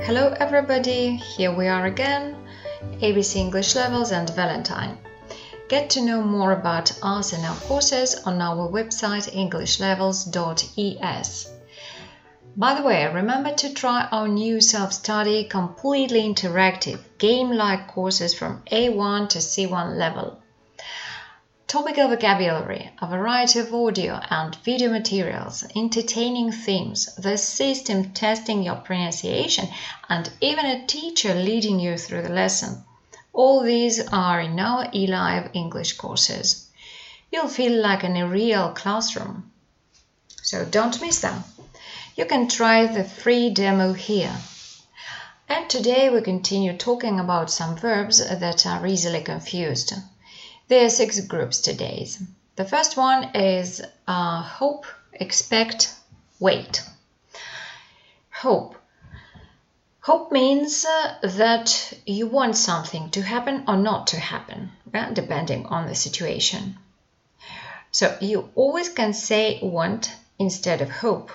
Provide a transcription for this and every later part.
Hello everybody, here we are again, ABC English Levels and Valentine. Get to know more about us and our courses on our website englishlevels.es. By the way, remember to try our new self-study, completely interactive, game-like courses from A1 to C1 level. Topical vocabulary, a variety of audio and video materials, entertaining themes, the system testing your pronunciation, and even a teacher leading you through the lesson. All these are in our eLive English courses. You'll feel like in a real classroom. So don't miss them. You can try the free demo here. And today we continue talking about some verbs that are easily confused. There are 6 groups today. The first one is hope, expect, wait. Hope. Hope means that you want something to happen or not to happen, depending on the situation. So you always can say want instead of hope.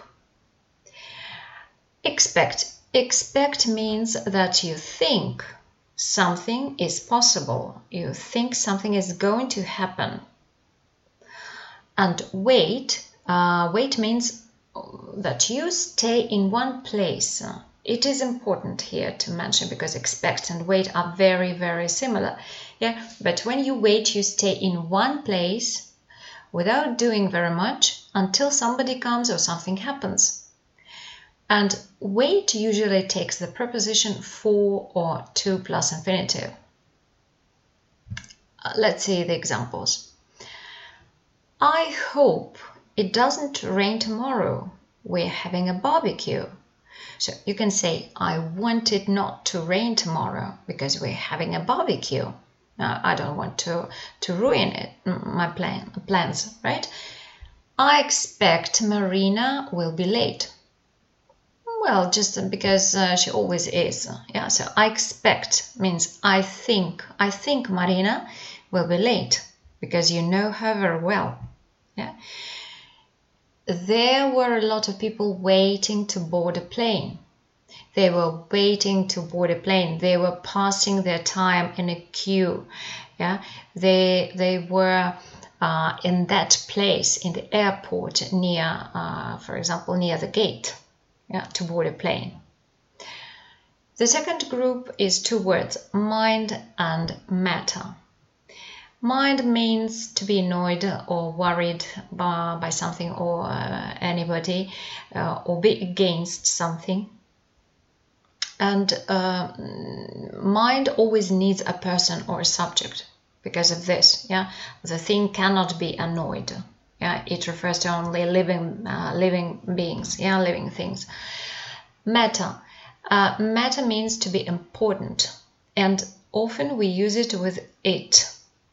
Expect. Expect means that you think something is possible. You think something is going to happen. And wait. Wait means that you stay in one place. It is important here to mention because expect and wait are very, very similar. Yeah, but when you wait, you stay in one place without doing very much until somebody comes or something happens. And wait usually takes the preposition for or to plus infinitive. Let's see the examples. I hope it doesn't rain tomorrow. We're having a barbecue. So you can say, I want it not to rain tomorrow because we're having a barbecue. Now, I don't want to ruin it, my plans, right? I expect Marina will be late. Well, just because she always is. Yeah, so I expect means I think Marina will be late because you know her very well. Yeah. There were a lot of people waiting to board a plane. They were waiting to board a plane. They were passing their time in a queue. Yeah. They were in that place in the airport near, for example, near the gate. Yeah, to board a plane. The second group is 2 words, mind and matter. Mind means to be annoyed or worried by something or anybody or be against something. And mind always needs a person or a subject because of this. Yeah, the thing cannot be annoyed. Yeah, it refers to only living beings, yeah, living things. Matter. Matter means to be important, and often we use it with it.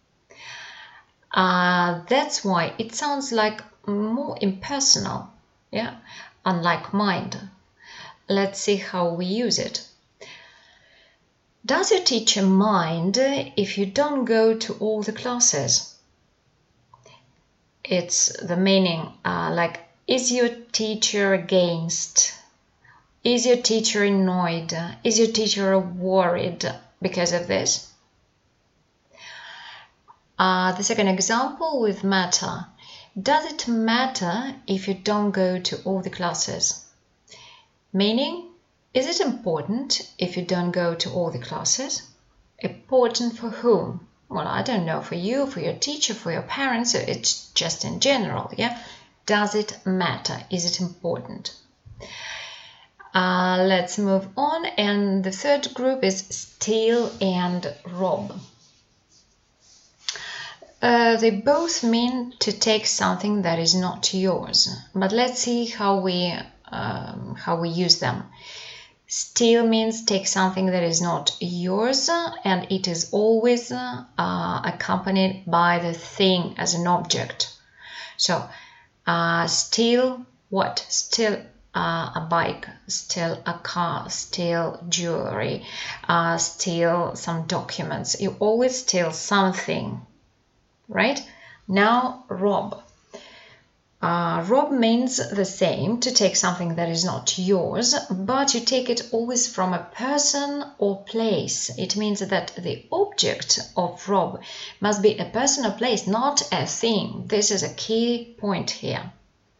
That's why it sounds like more impersonal, yeah, unlike mind. Let's see how we use it. Does your teacher mind if you don't go to all the classes? It's the meaning like, is your teacher against? Is your teacher annoyed? Is your teacher worried because of this? The second example with matter. Does it matter if you don't go to all the classes? Meaning, is it important if you don't go to all the classes? Important for whom? Well, I don't know, for you, for your teacher, for your parents, it's just in general, yeah? Does it matter? Is it important? Let's move on, and the third group is steal and rob. They both mean to take something that is not yours, but let's see how we use them. Steal means take something that is not yours, and it is always accompanied by the thing as an object. So, steal what? Steal a bike, steal a car, steal jewelry, steal some documents. You always steal something, right? Now, rob. Rob means the same, to take something that is not yours, but you take it always from a person or place. It means that the object of rob must be a person or place, not a thing. This is a key point here.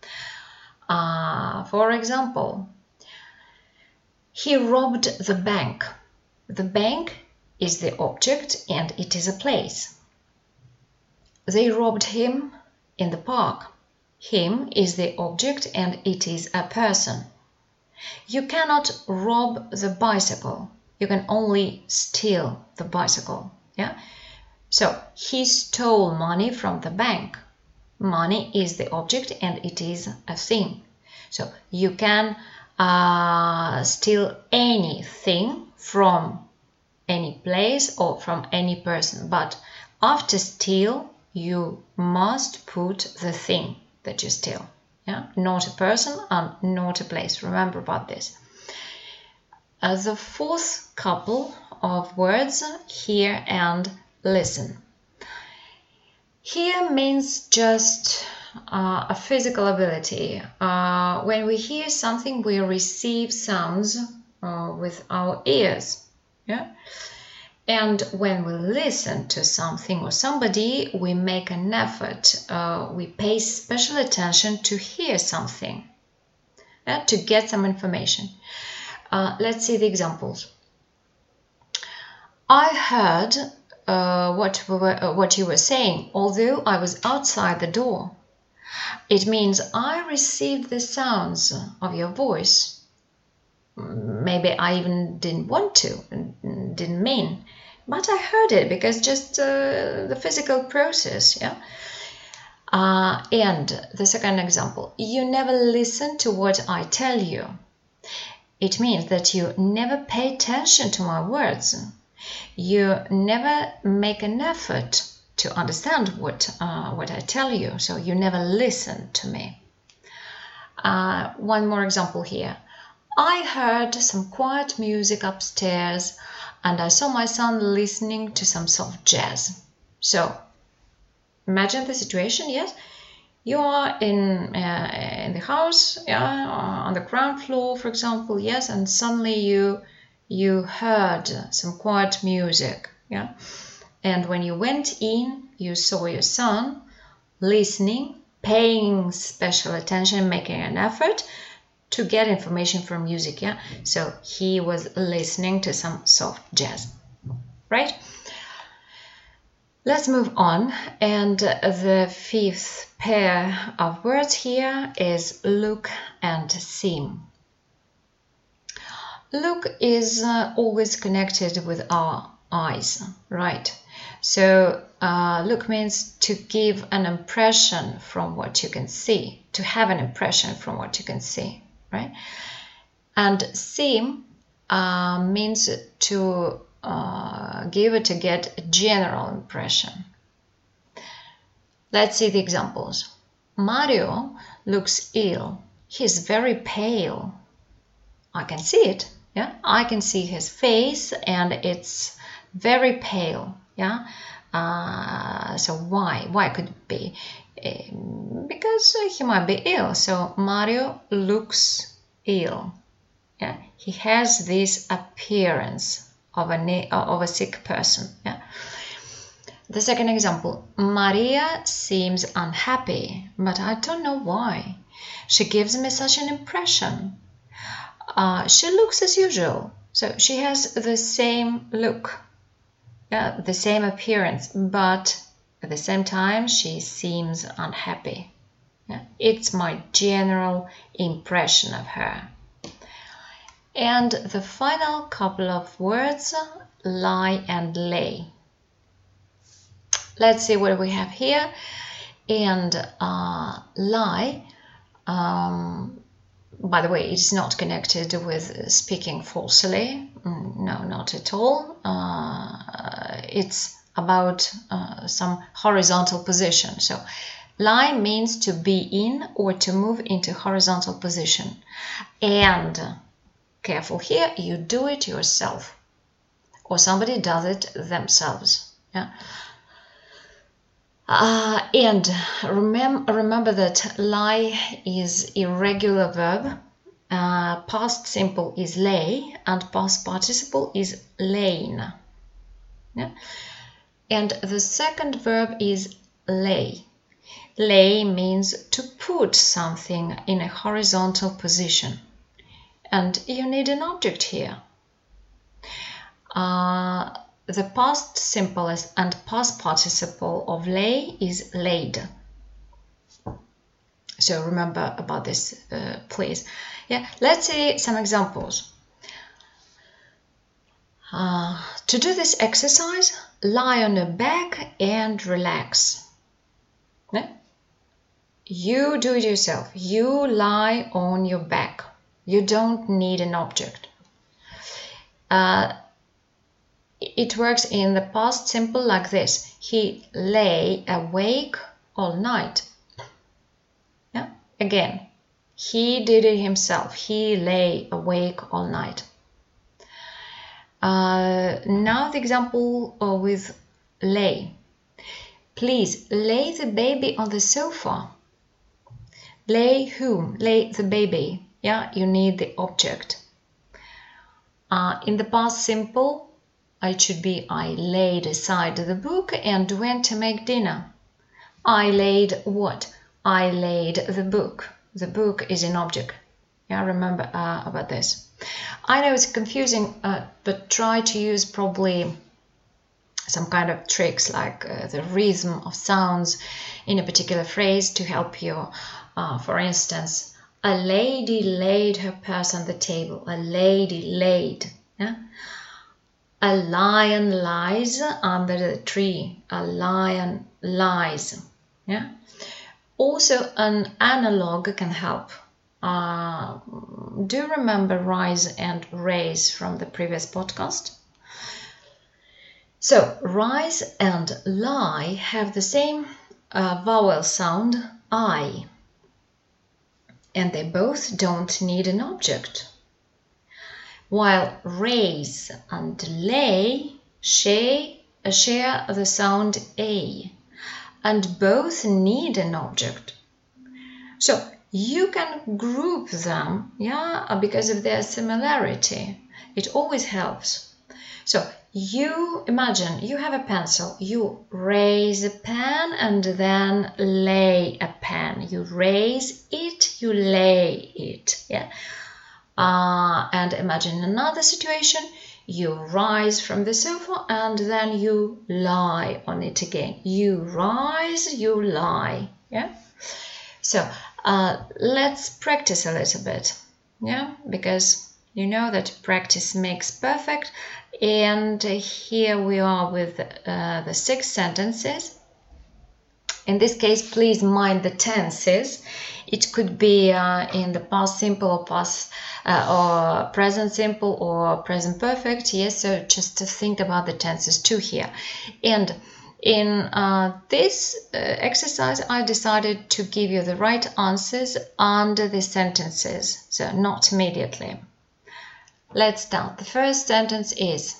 For example, he robbed the bank. The bank is the object and it is a place. They robbed him in the park. Him is the object and it is a person. You cannot rob the bicycle. You can only steal the bicycle. Yeah. So he stole money from the bank. Money is the object and it is a thing. So you can steal anything from any place or from any person. But after steal, you must put the thing that you steal, yeah, not a person and not a place. Remember about this. The fourth couple of words, hear and listen. Hear means just a physical ability. When we hear something, we receive sounds with our ears, yeah. And when we listen to something or somebody, we make an effort. We pay special attention to hear something, to get some information. Let's see the examples. I heard what you were saying, although I was outside the door. It means I received the sounds of your voice. Maybe I even didn't want to, didn't mean, but I heard it because just the physical process, yeah. And the second example, you never listen to what I tell you. It means that you never pay attention to my words. You never make an effort to understand what I tell you, so you never listen to me. One more example here. I heard some quiet music upstairs and I saw my son listening to some soft jazz. So, imagine the situation, yes? You are in the house, yeah, on the ground floor, for example, yes, and suddenly you heard some quiet music, yeah? And when you went in, you saw your son listening, paying special attention, making an effort to get information from music, yeah? So he was listening to some soft jazz, right? Let's move on, and the fifth pair of words here is look and seem. Look is always connected with our eyes, right? So look means to give an impression from what you can see, to have an impression from what you can see, right? And seem means to get a general impression. Let's see the examples. Mario looks ill. He's very pale. I can see it, yeah? I can see his face and it's very pale, yeah? So why? Why could it be? Because he might be ill. So Mario looks ill. Yeah? He has this appearance of a sick person. Yeah? The second example, Maria seems unhappy, but I don't know why. She gives me such an impression. She looks as usual, so she has the same look, the same appearance, but at the same time she seems unhappy. Yeah? It's my general impression of her. And the final couple of words, lie and lay. Let's see what we have here. And lie, by the way, it's not connected with speaking falsely. No, not at all. It's about some horizontal position. So lie means to be in or to move into horizontal position. And careful here, you do it yourself or somebody does it themselves. Yeah. And remember that lie is irregular verb. Past simple is lay and past participle is lain. Yeah? And the second verb is lay. Lay means to put something in a horizontal position. And you need an object here. The past simple and past participle of lay is laid. So remember about this, please. Yeah, let's see some examples. To do this exercise, lie on your back and relax. Yeah? You do it yourself. You lie on your back. You don't need an object. It works in the past simple like this. He lay awake all night. Yeah? Again, he did it himself. He lay awake all night. Now the example with lay. Please lay the baby on the sofa. Lay whom? Lay the baby. Yeah, you need the object. In the past simple, it should be I laid aside the book and went to make dinner. I laid what? I laid the book. The book is an object. Yeah, remember about this. I know it's confusing, but try to use probably some kind of tricks like the rhythm of sounds in a particular phrase to help you. For instance, a lady laid her purse on the table. A lady laid. Yeah? A lion lies under the tree. A lion lies. Yeah? Also, an analog can help. Do remember rise and raise from the previous podcast? So, rise and lie have the same vowel sound, I. And they both don't need an object. While raise and lay share the sound A, and both need an object. So you can group them, yeah, because of their similarity. It always helps. So you imagine you have a pencil, you raise a pen and then lay a pen. You raise it, you lay it, yeah. And imagine another situation, you rise from the sofa and then you lie on it again. You rise, you lie, yeah. So let's practice a little bit, yeah, because you know that practice makes perfect. And here we are with the 6 sentences. In this case, please mind the tenses. It could be in the past simple or past or present simple or present perfect. Yes, so just to think about the tenses too here. And in this exercise, I decided to give you the right answers under the sentences, so not immediately. Let's start. The first sentence is,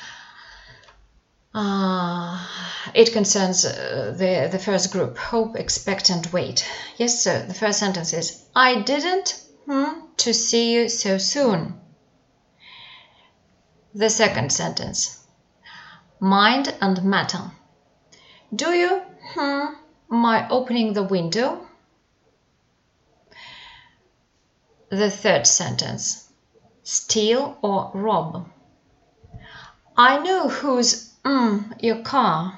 it concerns the first group, hope, expect and wait. Yes, so the first sentence is, I didn't to see you so soon. The second sentence, mind and matter. Do you my opening the window? The third sentence, steal or rob. I know whose your car.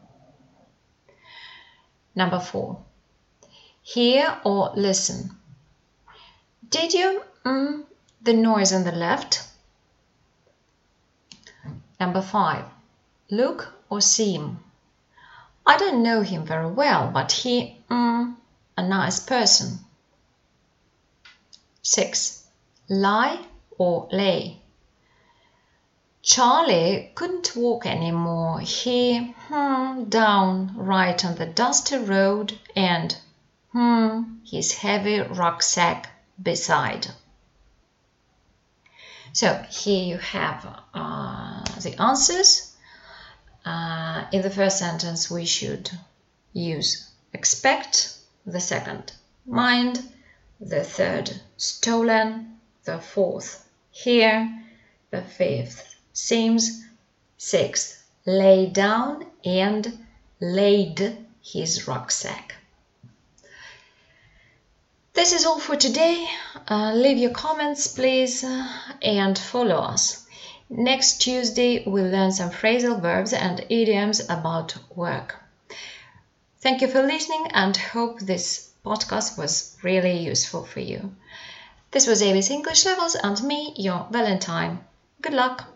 Number 4, hear or listen. Did you the noise on the left? Number 5, look or seem. I don't know him very well, but he a nice person. 6, lie or lay. Charlie couldn't walk anymore. He down right on the dusty road and his heavy rucksack beside. So here you have the answers. In the first sentence we should use expect, the second mind, the third stolen, the fourth here, the fifth seems, sixth lay down and laid his rucksack. This is all for today. Leave your comments, please, and follow us. Next Tuesday, we'll learn some phrasal verbs and idioms about work. Thank you for listening and hope this podcast was really useful for you. This was ABC English Levels and me, your Valentine. Good luck!